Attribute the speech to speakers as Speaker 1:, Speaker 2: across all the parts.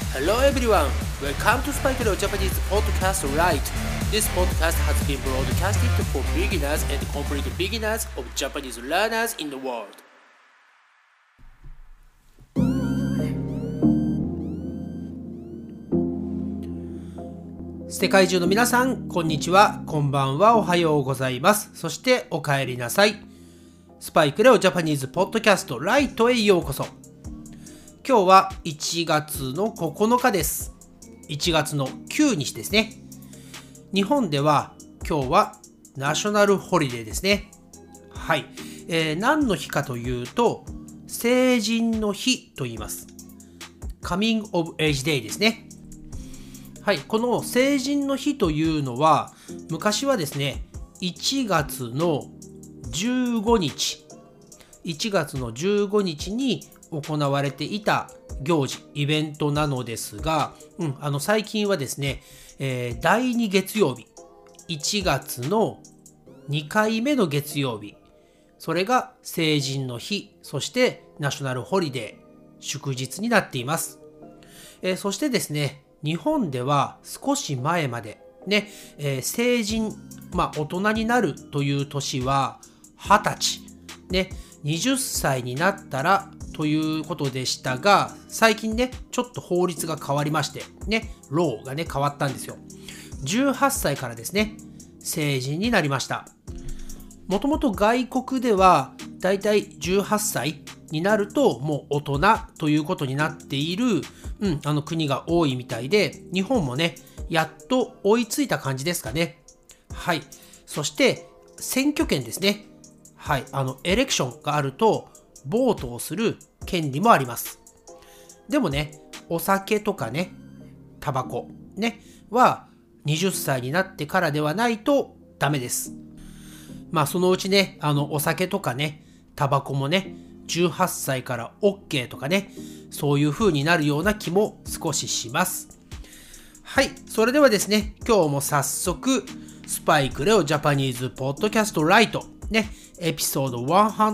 Speaker 1: Hello everyone, welcome to Spike Leo Japanese Podcast Right. This podcast has been broadcasted for beginners and complete beginners of Japanese learners in the world. 世界中の皆さん、こんにちは、こんばんは、おはようございます。そしてお帰りなさい。スパイクレオジャパニーズポッドキャストライトへようこそ。今日は1月の9日です。1月の9日ですね。日本では今日はナショナルホリデーですね。はい。何の日かというと、成人の日と言います。Coming of Age Day ですね。はい。この成人の日というのは、昔はですね、1月の15日に行われていた行事、イベントなのですが、最近はですね、第2月曜日、1月の2回目の月曜日、それが成人の日、そしてナショナルホリデー、祝日になっています。そしてですね、日本では少し前までね、成人、大人になるという年は20歳、ね、20歳になったらということでしたが、最近ね、ちょっと法律が変わりまして、ね、ローがね、変わったんですよ。18歳からですね、成人になりました。もともと外国では、だいたい18歳になると、もう大人ということになっている、国が多いみたいで、日本もね、やっと追いついた感じですかね。はい。そして、選挙権ですね。はい。エレクションがあると、ボートをする権利もあります。でもね、お酒とかね、タバコね、は20歳になってからではないとダメです。そのうちね、お酒とかね、タバコもね、18歳から OK とかね、そういう風になるような気も少しします。はい。それではですね、今日も早速、スパイクレオジャパニーズポッドキャストライトね、エピソード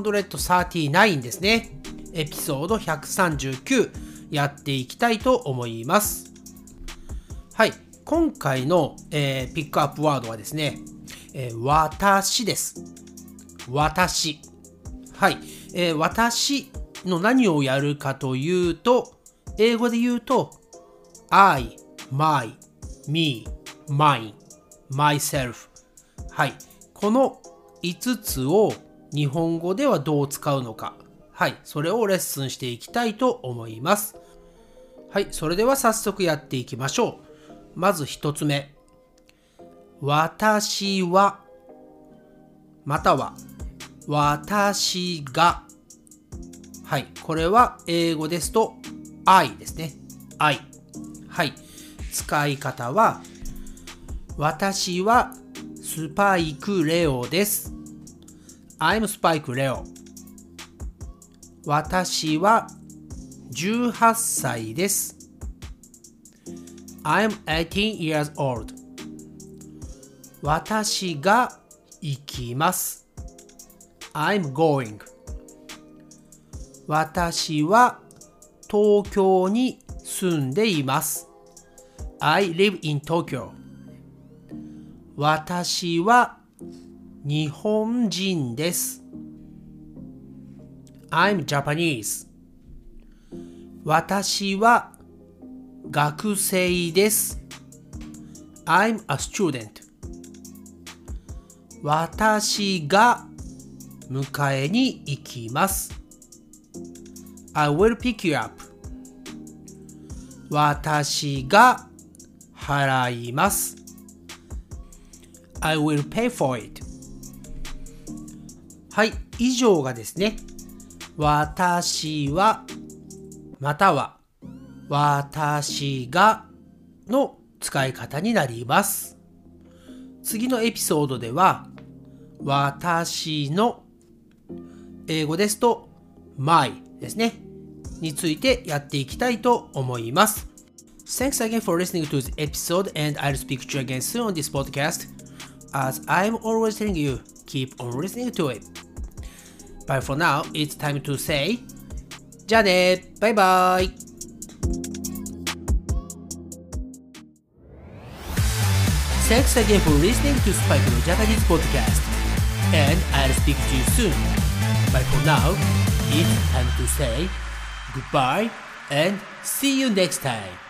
Speaker 1: 139ですね。エピソード139やっていきたいと思います。はい。今回の、ピックアップワードはですね、私です。私。はい。私の何をやるかというと、英語で言うと、I, my, me, mine, myself。はい。この5つを日本語ではどう使うのか。はい。それをレッスンしていきたいと思います。はい。それでは早速やっていきましょう。まず1つ目。私は、または、私が。はい。これは英語ですと I ですね。I。はい。使い方は、私はスパイクレオです。I'm Spike Leo。私は18歳です。I'm 18 years old。私が行きます。I'm going。私は東京に住んでいます。I live in Tokyo。私は日本人です。I'm Japanese。私は学生です。I'm a student。私が迎えに行きます。I will pick you up。私が払います。I will pay for it。はい、以上がですね、私は、または、私がの使い方になります。次のエピソードでは、私の、英語ですと、my ですね、についてやっていきたいと思います。Thanks again for listening to this episode and I'll speak to you again soon on this podcast.As I'm always telling you, keep on listening to it. But for now, it's time to say, じゃあね、バイバイ。 Thanks again for listening to Spike no Japanese podcast. And I'll speak to you soon. But for now, it's time to say goodbye and see you next time.